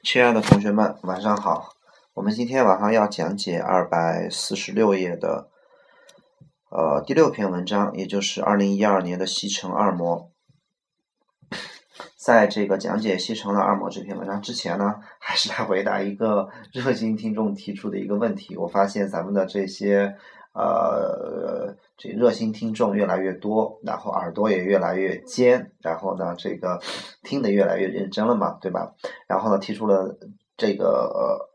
亲爱的同学们，晚上好。我们今天晚上要讲解246页的第6篇文章，也就是2012年的西城二模。在这个讲解西城的二模这篇文章之前呢，还是来回答一个热心听众提出的一个问题。我发现咱们的这些这热心听众越来越多，然后耳朵也越来越尖，然后呢这个听得越来越认真了嘛，对吧？然后呢提出了这个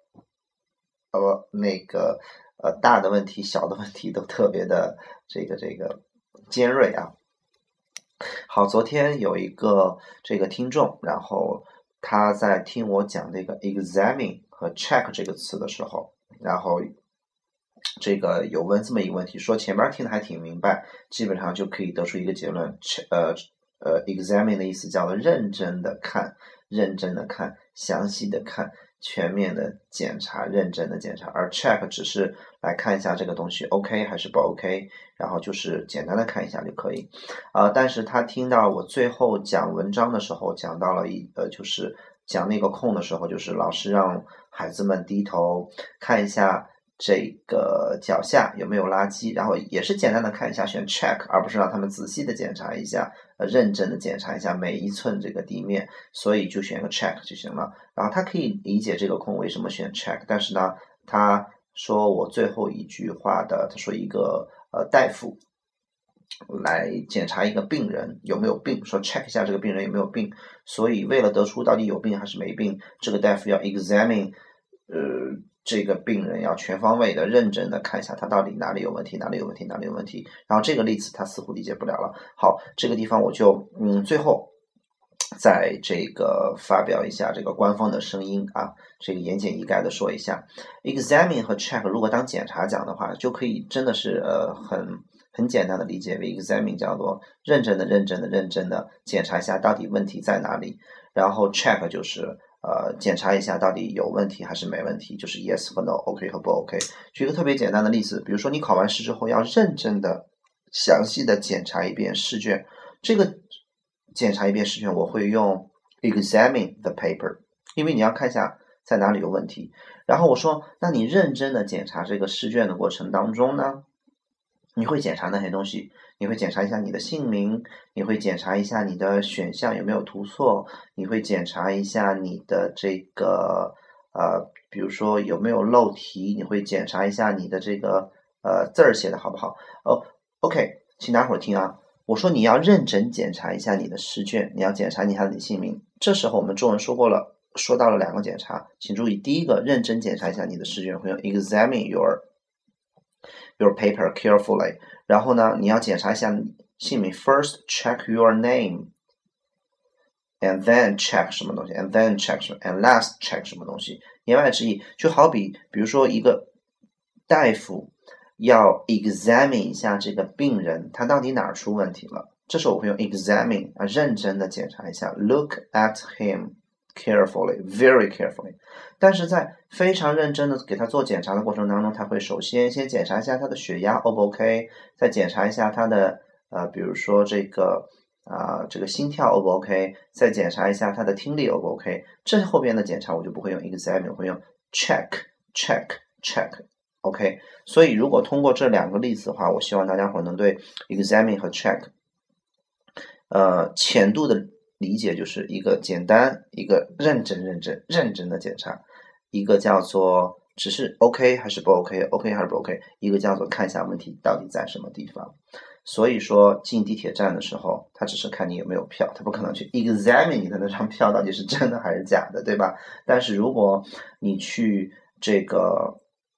大的问题小的问题都特别的这个尖锐啊。好，昨天有一个这个听众，然后他在听我讲这个 examine 和 check 这个词的时候，然后这个有问这么一个问题，说前面听的还挺明白，基本上就可以得出一个结论。examine 的意思叫做认真的看，详细的看，全面的检查，认真的检查。而 check 只是来看一下这个东西 OK 还是不 OK， 然后就是简单的看一下就可以。但是他听到我最后讲文章的时候，讲到了就是讲那个空的时候，就是老师让孩子们低头看一下这个脚下有没有垃圾，然后也是简单的看一下，选 check， 而不是让他们仔细的检查一下，认真的检查一下每一寸这个地面，所以就选个 check 就行了。然后他可以理解这个空为什么选 check， 但是呢，他说我最后一句话的，他说一个大夫来检查一个病人有没有病，说 check 一下这个病人有没有病，所以为了得出到底有病还是没病，这个大夫要 examine这个病人要全方位的认真的看一下他到底哪里有问题，然后这个例子他似乎理解不了了。好，这个地方我就最后在这个发表一下这个官方的声音啊，这个言简意赅的说一下 examine 和 check 如果当检查讲的话，就可以真的是很简单的理解为 examine 叫做认真的检查一下到底问题在哪里，然后 check 就是检查一下到底有问题还是没问题，就是 yes 和 no，OK 和不 OK。举一个特别简单的例子，比如说你考完试之后要认真的详细的检查一遍试卷，这个检查一遍试卷我会用 examine the paper， 因为你要看一下在哪里有问题。然后我说那你认真的检查这个试卷的过程当中呢，你会检查那些东西，你会检查一下你的姓名，你会检查一下你的选项有没有涂错，你会检查一下你的这个比如说有没有漏题，你会检查一下你的这个字儿写的好不好。OK， 请大伙儿听啊，我说你要认真检查一下你的试卷，你要检查一下你的姓名。这时候我们中文说到了2个检查，请注意，第一个认真检查一下你的试卷，会用 examine your paper carefully， 然后呢你要检查一下姓名 first check your name and then check 什么东西 and then check 什么 and last check 什么东西。言外之意就好比如说一个大夫要 examine 一下这个病人他到底哪儿出问题了，这时候我会用 examine 认真的检查一下 look at him carefully, very carefully。 但是在非常认真的给他做检查的过程当中，他会首先检查一下他的血压 O 不 OK， 再检查一下他的比如说这个心跳 O 不 OK， 再检查一下他的听力 O 不 OK。 这后边的检查我就不会用 examine， 我会用 check OK。 所以如果通过这2个例子的话，我希望大家伙能对 examine 和 check浅度的理解，就是一个简单，一个认真的检查，一个叫做只是 OK 还是不 OK， OK 还是不 OK， 一个叫做看一下问题到底在什么地方。所以说进地铁站的时候，他只是看你有没有票，他不可能去 examine 你的那张票到底是真的还是假的，对吧？但是如果你去这个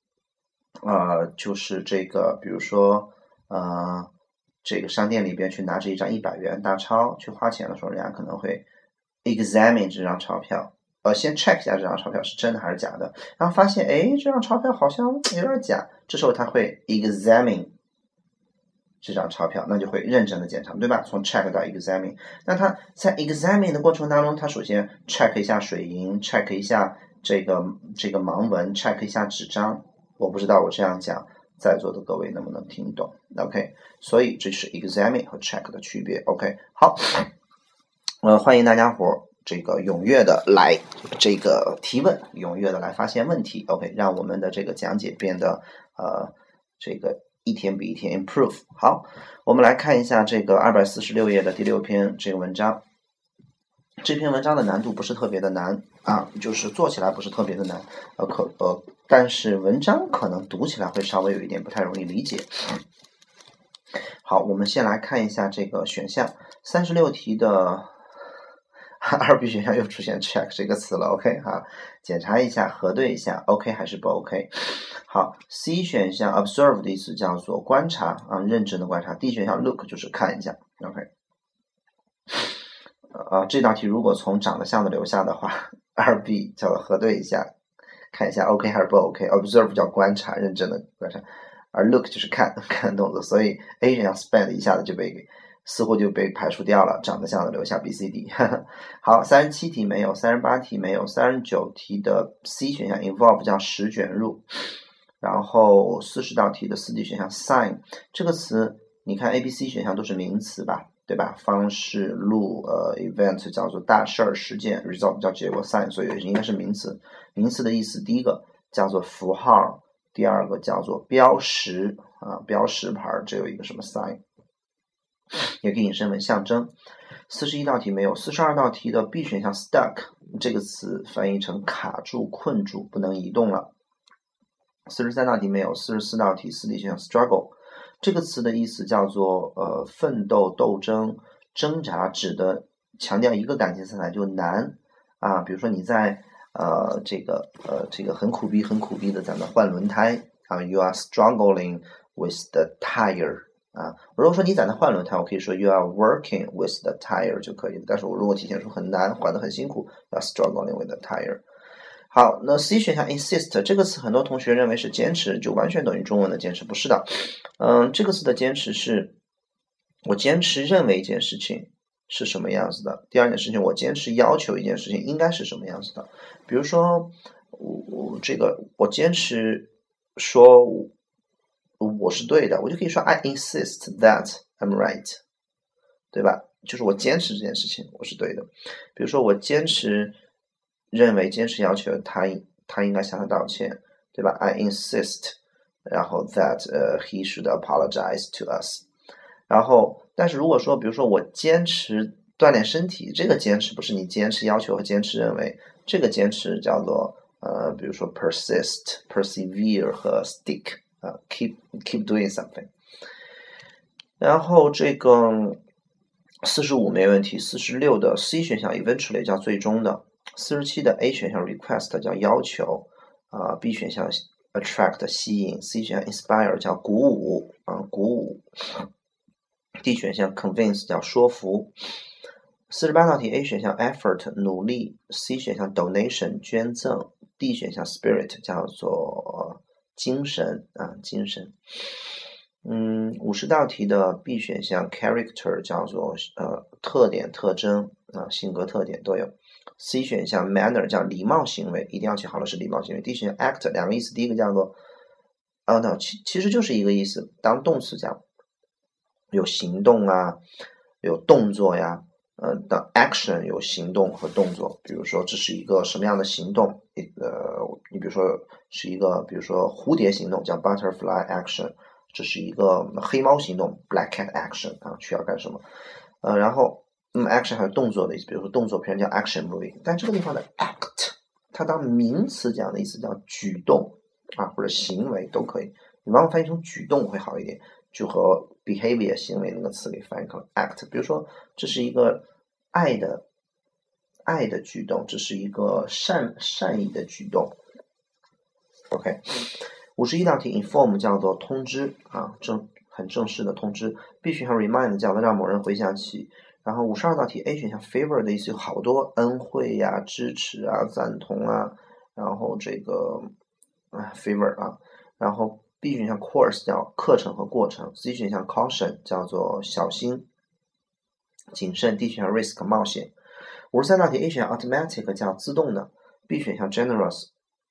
就是这个比如说这个商店里边去拿着一张100元大钞去花钱的时候，人家可能会 examine 这张钞票，先 check 一下这张钞票是真的还是假的，然后发现这张钞票好像有点假，这时候他会 examine 这张钞票，那就会认真的检查，对吧？从 check 到 examine。 那他在 examine 的过程当中，他首先 check 一下水银， check 一下这个盲文， check 一下纸张。我不知道我这样讲在座的各位能不能听懂 OK， 所以这是 examine 和 check 的区别 OK。 好，欢迎大家伙这个踊跃的来这个提问，踊跃的来发现问题 ，OK， 让我们的这个讲解变得这个一天比一天 improve。好，我们来看一下这个246页的第6篇这个文章。这篇文章的难度不是特别的难啊，就是做起来不是特别的难，但是文章可能读起来会稍微有一点不太容易理解。好，我们先来看一下这个选项，36题的2B 选项又出现 check 这个词了 ，OK 哈，检查一下，核对一下 ，OK 还是不 OK。好 ，C 选项 observe 的意思叫做观察啊，认真的观察。D 选项 look 就是看一下 ，OK。这道题如果从长得像的留下的话，2B 叫做核对一下，看一下 OK 还是不 OK。observe 叫观察，认真的观察，而 look 就是看动作，所以 A 选项 spend 一下子似乎就被排除掉了，长得像的留下 B、C、D 好，37题没有，38题没有，39题的 C 选项 involve 叫使卷入，然后40道题的4D 选项 sign 这个词，你看 A、B、C 选项都是名词吧，对吧？方式、路event 叫做大事儿、事件 ，result 叫结果 ，sign 所以应该是名词。名词的意思，第一个叫做符号，第二个叫做标识啊，标识牌，这有一个什么 sign。也可以引申为象征。41道题没有，42道题的 B 选项 stuck 这个词翻译成卡住、困住，不能移动了。43道题没有，44道题4D 选项 struggle 这个词的意思叫做奋斗、斗争、挣扎，指的强调一个感情色彩就难啊，比如说你在这个很苦逼的在那换轮胎啊 ，you are struggling with the tire。如果说你在那换轮胎，我可以说 you are working with the tire 就可以了。但是我如果体现出很难，换得很辛苦，要 struggling with the tire。好，那 C 选项 insist 这个词，很多同学认为是坚持，就完全等于中文的坚持，不是的。这个词的坚持是，我坚持认为一件事情是什么样子的。第二件事情，我坚持要求一件事情应该是什么样子的。比如说，我坚持说我是对的，我就可以说 I insist that I'm right， 对吧？就是我坚持这件事情我是对的。比如说我坚持要求他应该向他道歉，对吧？ I insist 然后 that he should apologize to us。 然后但是如果说比如说我坚持锻炼身体，这个坚持不是你坚持要求和坚持认为，这个坚持叫做比如说 persevere 和 stick keep doing something。 然后这个45没问题，46的 C 选项 eventually 叫最终的，47的 A 选项 request 叫要求，B 选项 attract 吸引， C 选项 inspire 叫鼓舞，D 选项 convince 叫说服。48道题 A 选项 effort 努力， C 选项 donation 捐赠， D 选项 spirit 叫做精神。50道题的 B 选项 character 叫做特点、特征性格特点都有。C 选项 manner 叫礼貌行为，一定要记好了是礼貌行为。D 选项 act 两个意思，第一个叫做其实就是一个意思，当动词讲有行动啊，有动作呀。当 action 有行动和动作，比如说这是一个什么样的行动？你比如说是一个，比如说蝴蝶行动叫 butterfly action， 这是一个黑猫行动 black cat action 需要干什么？然后action 还有动作的意思，比如说动作片叫 action movie， 但这个地方的 act 它当名词讲的意思叫举动或者行为都可以，你往往翻译成举动会好一点，就和 behavior 行为那个词给翻译成 act。 比如说这是一个爱的举动，这是一个善意的举动。 OK， 51道题 inform 叫做通知很正式的通知。 B 选项 remind 叫做让某人回想起。然后52道题 A 选项 favor 的意思有好多，恩惠呀、支持赞同然后这个favor 然后 B 选项 course 叫课程和过程， C 选项 caution 叫做小心谨慎， D 选项 risk 冒险。53道题 A 选项 automatic 叫自动的， B 选项 generous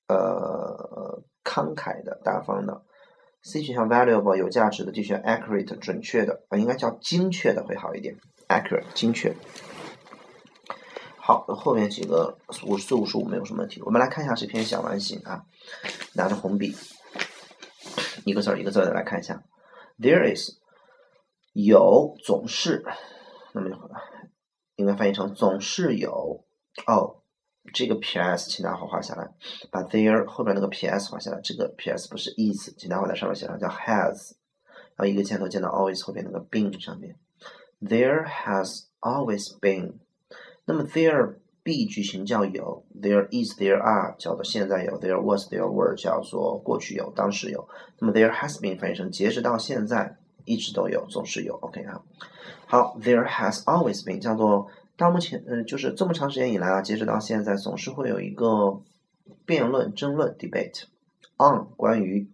慷慨的大方的， C 选项 valuable 有价值的， D 选项 accurate 准确的应该叫精确的会好一点， accurate 精确。 好，后面几个54、55没有什么问题。我们来看一下这篇小完形啊，拿着红笔，一个字儿一个字儿的来看一下。There is 有总是，那么应该翻译成总是有哦。这个 PS 请大伙画下来，把 there 后边那个 PS 画下来。这个 PS 不是 is， 请大伙在上面写上叫 has， 然后一个箭头箭到 always 后边那个 been 上面。There has always been。那么 there be 句型叫有 ，there is there are 叫做现在有 ，there was there were 叫做过去有、当时有。那么 there has been 翻译成截止到现在一直都有，总是有。OK 啊，好 ，there has always been 叫做到目前就是这么长时间以来啊，截止到现在总是会有一个辩论、争论 debate on 关于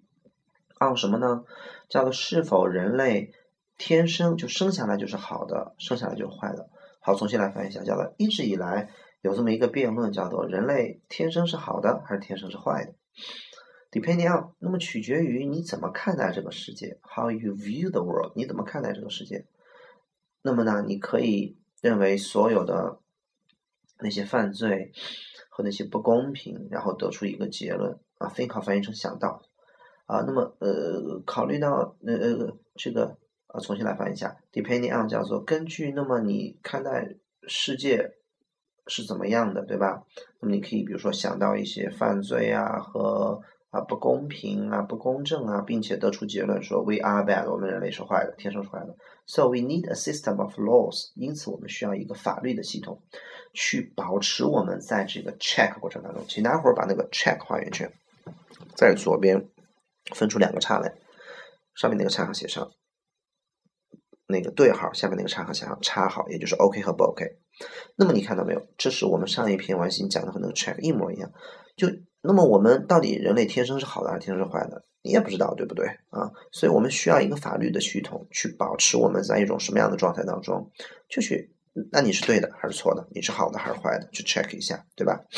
on 什么呢？叫做是否人类天生就生下来就是好的，生下来就是坏的。好，重新来翻译一下，叫做一直以来有这么一个辩论，叫做人类天生是好的还是天生是坏的 ？Depending on， 那么取决于你怎么看待这个世界 ，How you view the world， 你怎么看待这个世界？那么呢，你可以认为所有的那些犯罪和那些不公平，然后得出一个结论啊 ，think of 翻译成想到啊，那么考虑到这个重新来翻译一下 ，depending on 叫做根据，那么你看待世界是怎么样的，对吧？那么你可以比如说想到一些犯罪啊和不公平啊、不公正啊，并且得出结论说 we are bad， 我们人类是坏的，天生是坏的。So we need a system of laws， 因此我们需要一个法律的系统，去保持我们在这个 check 过程当中。请大伙儿把那个 check 画圆圈，在左边分出2个叉来，上面那个叉号写上那个对号，下面那个叉号写上叉号，也就是 OK 和不 OK。那么你看到没有？这是我们上一篇完形讲的和那个 check 一模一样。那么我们到底人类天生是好的还是天生是坏的？你也不知道，对不对啊？所以我们需要一个法律的系统去保持我们在一种什么样的状态当中，就去那你是对的还是错的？你是好的还是坏的？去 check 一下，对吧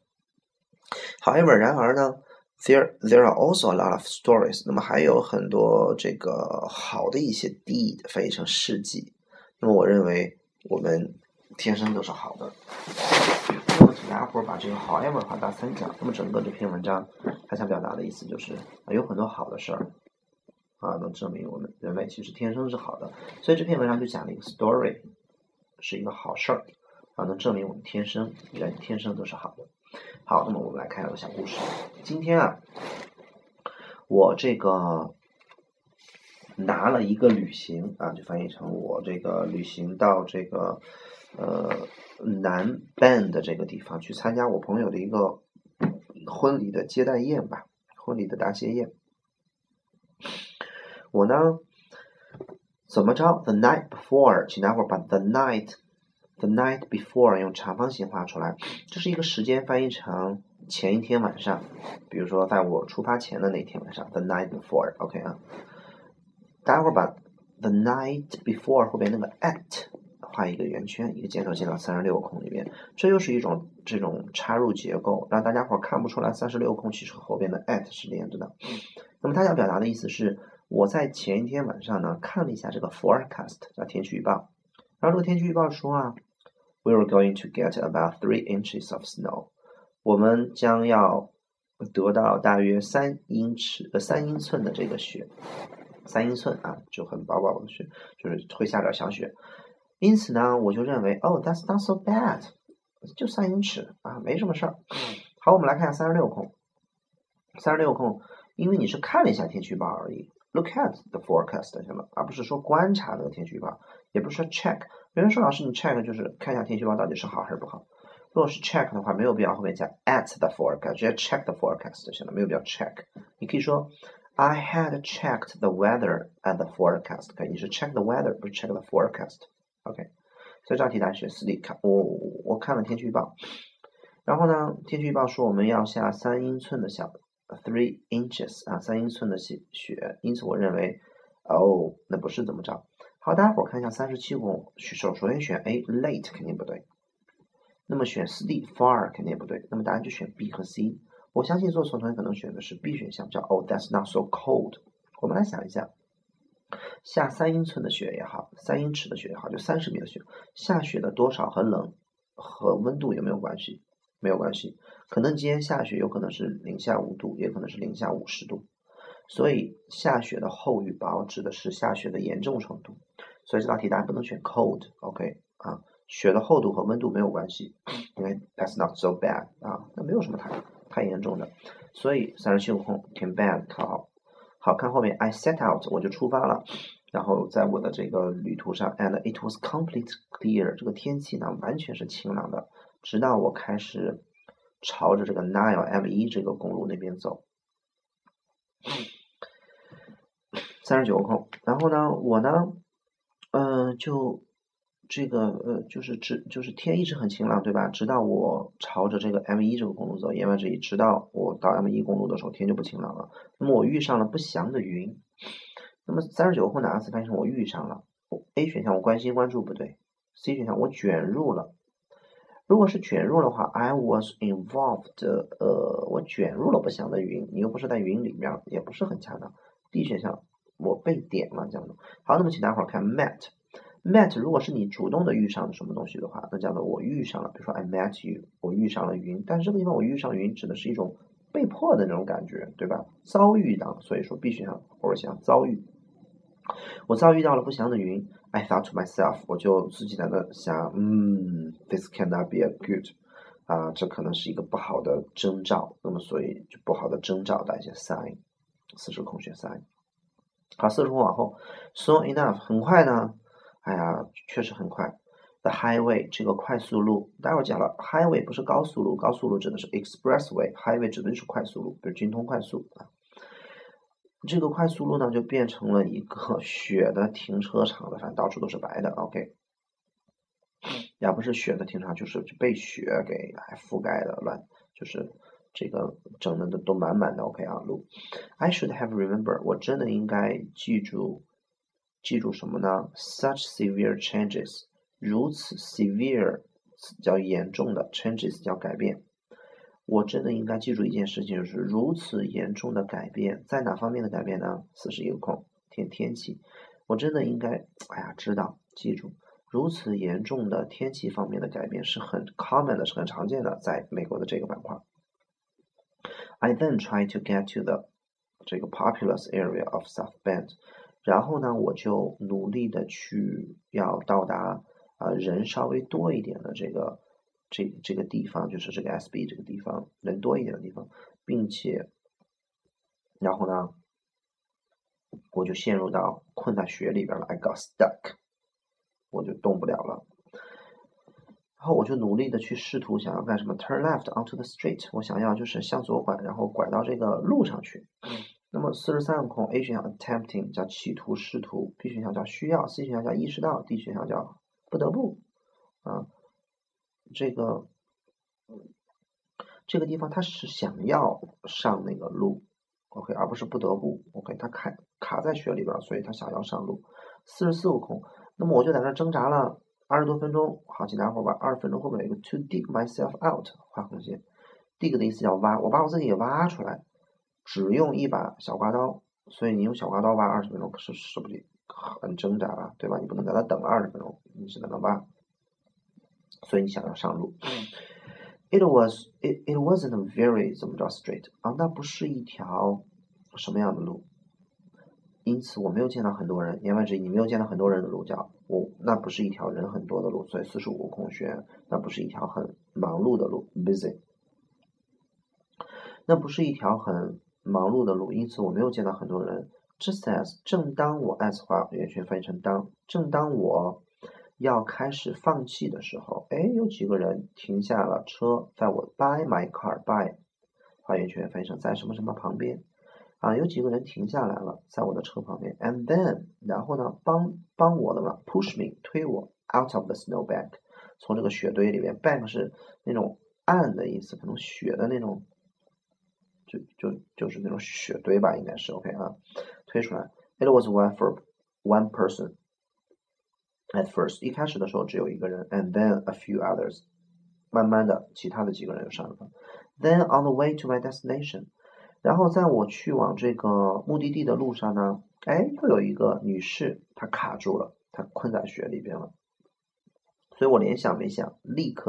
？However， 然而呢？There are also a lot of stories。那么还有很多这个好的一些 deed 翻译成事迹。那么我认为我们天生都是好的。那么请大家伙把这个 however 画大三角。那么整个这篇文章它想表达的意思就是有很多好的事儿啊，能证明我们人类其实天生是好的。所以这篇文章就讲了一个 story， 是一个好事儿啊，能证明我们人天生都是好的。好，那么我们来看一个小故事。今天啊，我这个拿了一个旅行啊，就翻译成我这个旅行到这个南 Bend 的这个地方去参加我朋友的一个婚礼的接待宴吧，婚礼的答谢宴。我呢怎么着 ？The night before， 请大伙把 the night before 用长方形画出来，这是一个时间翻译成前一天晚上，比如说在我出发前的那天晚上 ，the night before，OK 啊，大家伙把 the night before 后边那个 at 画一个圆圈，一个箭头进到36空里面，这又是一种这种插入结构，让大家伙看不出来36空其实和后边的 at 是连着的。那么它要表达的意思是，我在前一天晚上呢看了一下这个 forecast 叫天气预报，然后这个天气预报说啊 ，we are going to get about 3 inches of snow， 我们将要得到大约3英寸的这个雪，3英寸啊，就很薄薄的雪，就是会下点小雪。因此呢，我就认为that's not so bad， 就3英尺啊，没什么事儿。好，我们来看一下36空。36空，因为你是看了一下天气预报而已 ，look at the forecast 行了，而不是说观察那个天气预报，也不是说 check。有人说老师你 check 就是看一下天气预报到底是好还是不好。如果是 check 的话，没有必要后面加 at the forecast， 直接 check the forecast 就行了，没有必要 check。你可以说 I had checked the weather at the forecast， 可以，你是 check the weather， 不是 check the forecast。OK， 所以这道题大家选4D，我看了天气预报，然后呢，天气预报说我们要下3英寸的3 inches 啊，3英寸的雪，因此我认为那不是怎么着。好，大家伙看一下37空，首先选 A late 肯定不对，那么选4D far 肯定也不对，那么答案就选 B 和 C。我相信做错同学可能选的是 B 选项，叫that's not so cold。我们来想一下，下3英寸的雪也好，3英尺的雪也好，就30米的雪，下雪的多少和冷和温度有没有关系？没有关系。可能今天下雪，有可能是零下5度，也可能是零下50度。所以下雪的厚与薄指的是下雪的严重程度。所以这道题答案不能选 cold，OK 啊，雪的厚度和温度没有关系，因为 that's not so bad 啊，那没有什么太严重的。所以37空填 bad 好。好看后面 I set out 我就出发了。然后在我的这个旅途上 ，and it was completely clear， 这个天气呢完全是晴朗的，直到我开始朝着这个 Nile M1这个公路那边走。39空，然后呢，我呢，就这个就是天一直很晴朗，对吧？直到我朝着这个 M1这个公路走，言外之意，直到我到 M1公路的时候，天就不晴朗了。那么我遇上了不祥的云。那么39空哪个词翻译成我遇上了 ？A 选项我关心关注不对 ，C 选项我卷入了。如果是卷入的话 ，I was involved， 我卷入了不祥的云，你又不是在云里面，也不是很恰当。D 选项我被点了这样的。好，那么请大伙儿看 met，met 如果是你主动的遇上什么东西的话，那叫做我遇上了，比如说 I met you， 我遇上了云，但是这个地方我遇上云指的是一种被迫的那种感觉，对吧？遭遇到，所以说 B 选项或者想遭遇。我遭遇到了不祥的云 ，I thought to myself， 我就自己在那想，this cannot be a good， 这可能是一个不好的征兆，那么所以就不好的征兆的一些 sign， 40空选 sign。好，40空往后 ，soon enough， 很快呢，哎呀，确实很快。The highway 这个快速路，待会儿讲了 ，highway 不是高速路，高速路指的是 expressway，highway 指的就是快速路，比如京通快速啊。这个快速路呢，就变成了一个雪的停车场了，反正到处都是白的。OK， 也不是雪的停车场，就是被雪给覆盖的乱，就是这个整的都满满的。OK 啊，路。I should have remembered， 我真的应该记住什么呢 ？Such severe changes， 如此 severe 叫严重的 changes 叫改变。我真的应该记住一件事情，就是如此严重的改变，在哪方面的改变呢？41空天气，我真的应该，知道记住，如此严重的天气方面的改变是很 common 的，是很常见的，在美国的这个板块。I then tried to get to the 这个 populous area of South Bend， 然后呢，我就努力的去要到达人稍微多一点的这个地方，就是这个 SB 这个地方人多一点的地方，并且，然后呢，我就陷入到困在雪里边了 ，I got stuck， 我就动不了了。然后我就努力的去试图想要干什么 ，turn left onto the street， 我想要就是向左拐，然后拐到这个路上去。那么43空 A 选项 attempting 叫企图试图 ，B 选项叫需要 ，C 选项叫意识到 ，D 选项叫不得不这个地方他是想要上那个路 ，OK， 而不是不得不 ，OK， 他卡在雪里边，所以他想要上路。44空，那么我就在那挣扎了20多分钟。好，请大伙把20分钟后面有一个 to dig myself out 画红线 ，dig 的意思叫挖，我把我自己给挖出来，只用一把小刮刀，所以你用小刮刀挖20分钟，是不是很挣扎啊？对吧？你不能在那等了20分钟，你只能挖，所以你想要上路。It wasn't a very 怎么着 straight 那不是一条什么样的路？因此我没有见到很多人，言外之意你没有见到很多人的路叫那不是一条人很多的路，所以45空选那不是一条很忙碌的路 busy， 那不是一条很忙碌的路，因此我没有见到很多人。Just as 正当我 as 话原全翻译成当，正当我要开始放弃的时候，有几个人停下了车，在我 by my car by 话原全翻译成在什么什么旁边有几个人停下来了，在我的车旁边 and then 然后呢帮我的嘛 push me 推我 out of the snowbank 从这个雪堆里面 bank 是那种岸的意思，可能雪的那种就是那种雪堆吧，应该是 OK 推出来。It was one person at first， 一开始的时候只有一个人 and then a few others， 慢慢的其他的几个人又上了。Then on the way to my destination， 然后在我去往这个目的地的路上呢，又有一个女士她卡住了，她困在雪里边了。所以我连想没想，立刻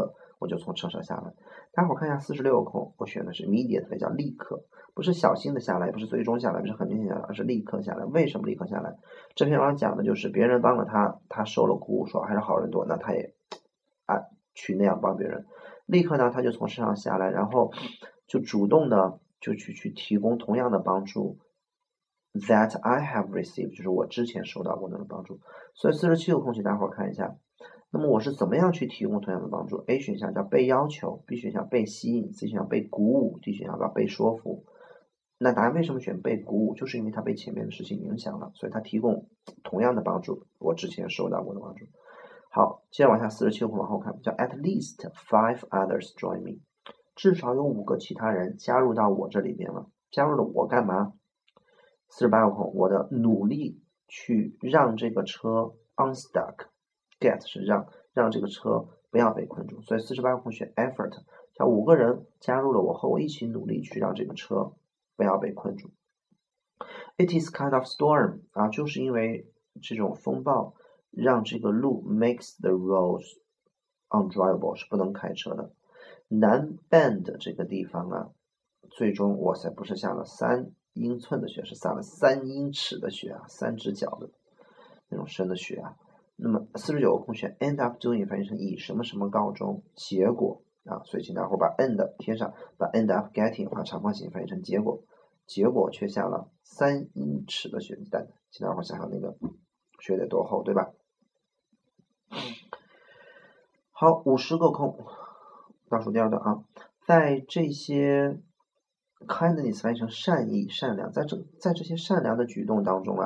我就从车上下来。待会儿看一下46个空，我选的是 immediately， 叫立刻，不是小心的下来，不是最终下来，不是很明显下来，而是立刻下来。为什么立刻下来？这篇文章讲的就是别人帮了他，他受了鼓舞，说还是好人多，那他也去那样帮别人。立刻呢，他就从车上下来，然后就主动的就去提供同样的帮助 that I have received， 就是我之前收到过那种帮助。所以47个空请大伙儿看一下。那么我是怎么样去提供同样的帮助 ？A 选项叫被要求 ，B 选项被吸引 ，C 选项被鼓舞 ，D 选项叫被说服。那答案为什么选被鼓舞？就是因为他被前面的事情影响了，所以他提供同样的帮助，我之前收到过的帮助。好，接着往下47个空往后看，叫 At least 5 others join me， 至少有5个其他人加入到我这里边了，加入了我干嘛？48个空，我的努力去让这个车 unstuck。Get 是让这个车不要被困住，所以48个空选 effort， 叫5个人加入了我，和我一起努力去让这个车不要被困住。It is kind of storm 就是因为这种风暴让这个路 makes the roads undrivable 是不能开车的。南 Bend 这个地方最终哇塞不是下了3英寸的雪，是下了3英尺的雪3只脚的那种深的雪那么49个空选 end up doing 翻译成以什么什么告终，结果所以请大伙把 end 贴上，把 end up getting 画长方形翻译成结果，结果却下了3英尺的雪，请大伙想想那个雪得多厚，对吧？好，50个空，倒数第二段在这些 kindness 翻译成善意、善良，在这些善良的举动当中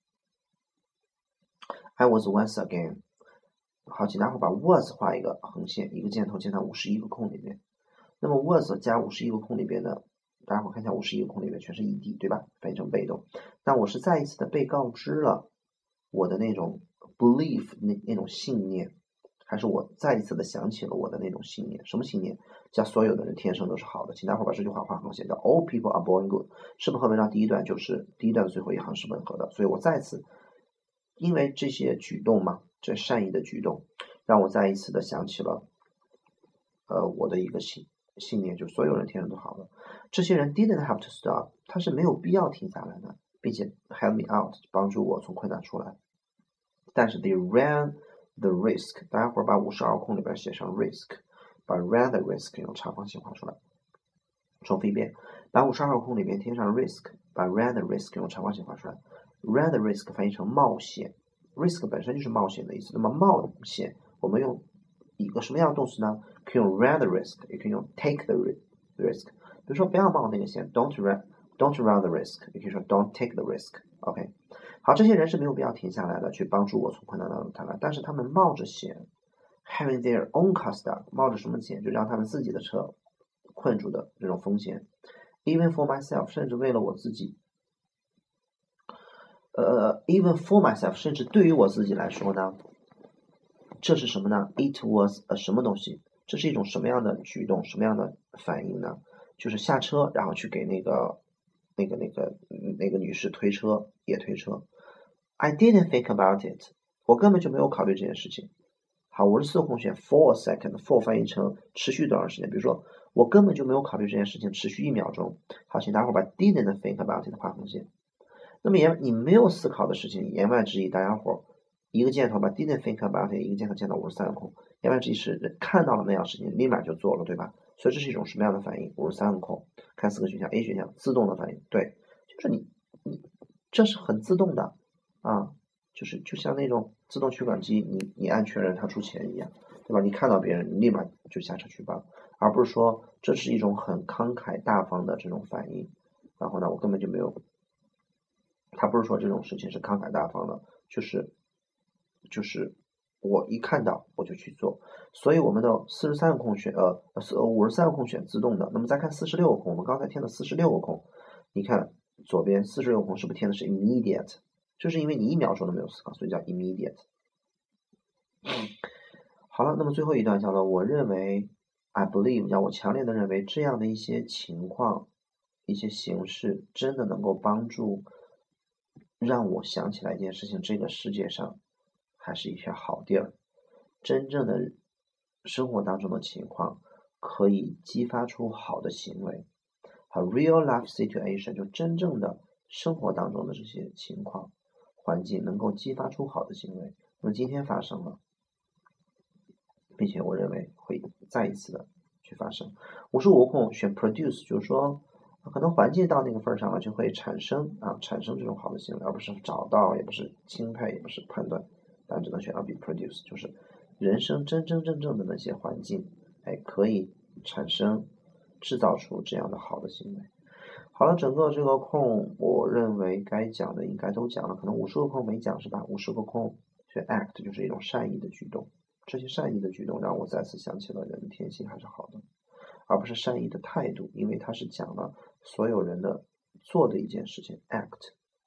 I was once again。好，请大伙把 was 画一个横线，一个箭头箭到51个空里面。那么 was 加51个空里边呢，大家伙看一下51个空里面全是 ed， 对吧？翻译成被动。那我是再一次的被告知了我的那种 belief 那种信念，还是我再一次的想起了我的那种信念？什么信念？叫所有的人天生都是好的。请大伙把这句话画横线，叫 all people are born good， 是不是和文章第一段就是第一段的最后一行是吻合的？所以我再次因为这些举动嘛，这善意的举动，让我再一次的想起了我的一个信念，就是所有人天生都好的。这些人 didn't have to stop， 他是没有必要停下来的，并且 help me out， 帮助我从困难出来。但是 they ran the risk， 大家伙把52空里边写上 risk， 把 ran the risk 用长方形画出来。重复一遍，把52空里边贴上 risk， 把 ran the risk 用长方形画出来。run the risk 翻译成冒险 ，risk 本身就是冒险的意思。那么冒险，我们用一个什么样的动词呢？可以用 run the risk， 也可以用 take the risk。比如说不要冒那个险 ，don't run the risk， 也可以说 don't take the risk。OK， 好，这些人是没有必要停下来的，去帮助我从困难当中逃来，但是他们冒着险 ，having their own car stuck， 冒着什么险？就让他们自己的车困住的这种风险。Even for myself， 甚至为了我自己。even for myself， 甚至对于我自己来说呢，这是什么呢 ？It was a 什么东西？这是一种什么样的举动？什么样的反应呢？就是下车，然后去给那个女士推车，也推车。I didn't think about it， 我根本就没有考虑这件事情。好，54个空选 for a second，for 翻译成持续多长时间？比如说，我根本就没有考虑这件事情，持续1秒钟。好，请大伙把 didn't think about it 画横线。那么你没有思考的事情，言外之意，大家伙一个箭头把 didn't think about it， 一个箭头箭到53个空，言外之意是看到了那样事情，立马就做了，对吧？所以这是一种什么样的反应？53个空，看4个选项 ，A 选项自动的反应，对，就是你这是很自动的就像那种自动取款机，你按确认它出钱一样，对吧？你看到别人，你立马就下车去帮，而不是说这是一种很慷慨大方的这种反应，然后呢，我根本就没有。他不是说这种事情是慷慨大方的，就是我一看到我就去做，所以我们的43个空选53个空选自动的。那么再看46个空，我们刚才填的46个空，你看左边46个空是不是填的是 immediate？ 就是因为你1秒钟都没有思考，所以叫 immediate。好了，那么最后一段叫做我认为 I believe， 叫我强烈的认为这样的一些情况、一些形式真的能够帮助。让我想起来一件事情，这个世界上还是一片好地儿，真正的生活当中的情况可以激发出好的行为。real life situation 就真正的生活当中的这些情况环境能够激发出好的行为。那么今天发生了，并且我认为会再一次的去发生。无时无空选 produce 就是说可能环境到那个份上了就会产生这种好的行为，而不是找到，也不是钦佩，也不是判断，但只能选到 be produce， 就是人生真真正正的那些环境可以制造出这样的好的行为。好了，整个这个空我认为该讲的应该都讲了，可能50个空没讲是吧？50个空选 act 就是一种善意的举动，这些善意的举动让我再次想起了人的天性还是好的，而不是善意的态度，因为它是讲了所有人的做的一件事情 act。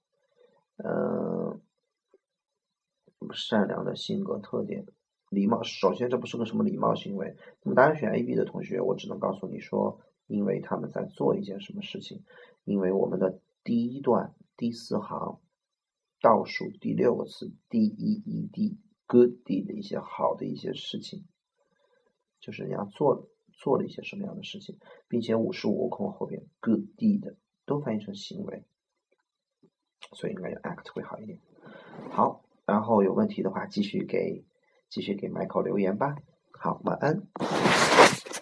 善良的性格特点，礼貌，首先这不是个什么礼貌行为。那么答案选 A、B 的同学，我只能告诉你说，因为他们在做一件什么事情，因为我们的第一段第4行倒数第6个词 D-E-E-D good deed 的一些好的一些事情，就是人家做了一些什么样的事情，并且55个空后边 good deed 都翻译成行为，所以应该用 act 会好一点。好，然后有问题的话继续给Michael 留言吧。好，晚安。